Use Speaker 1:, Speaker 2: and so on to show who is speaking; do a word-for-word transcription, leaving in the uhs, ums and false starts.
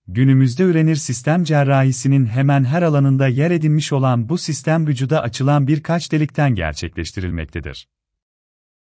Speaker 1: Günümüzde ürenir sistem cerrahisinin hemen her alanında yer edinmiş olan bu sistem vücuda açılan birkaç delikten gerçekleştirilmektedir.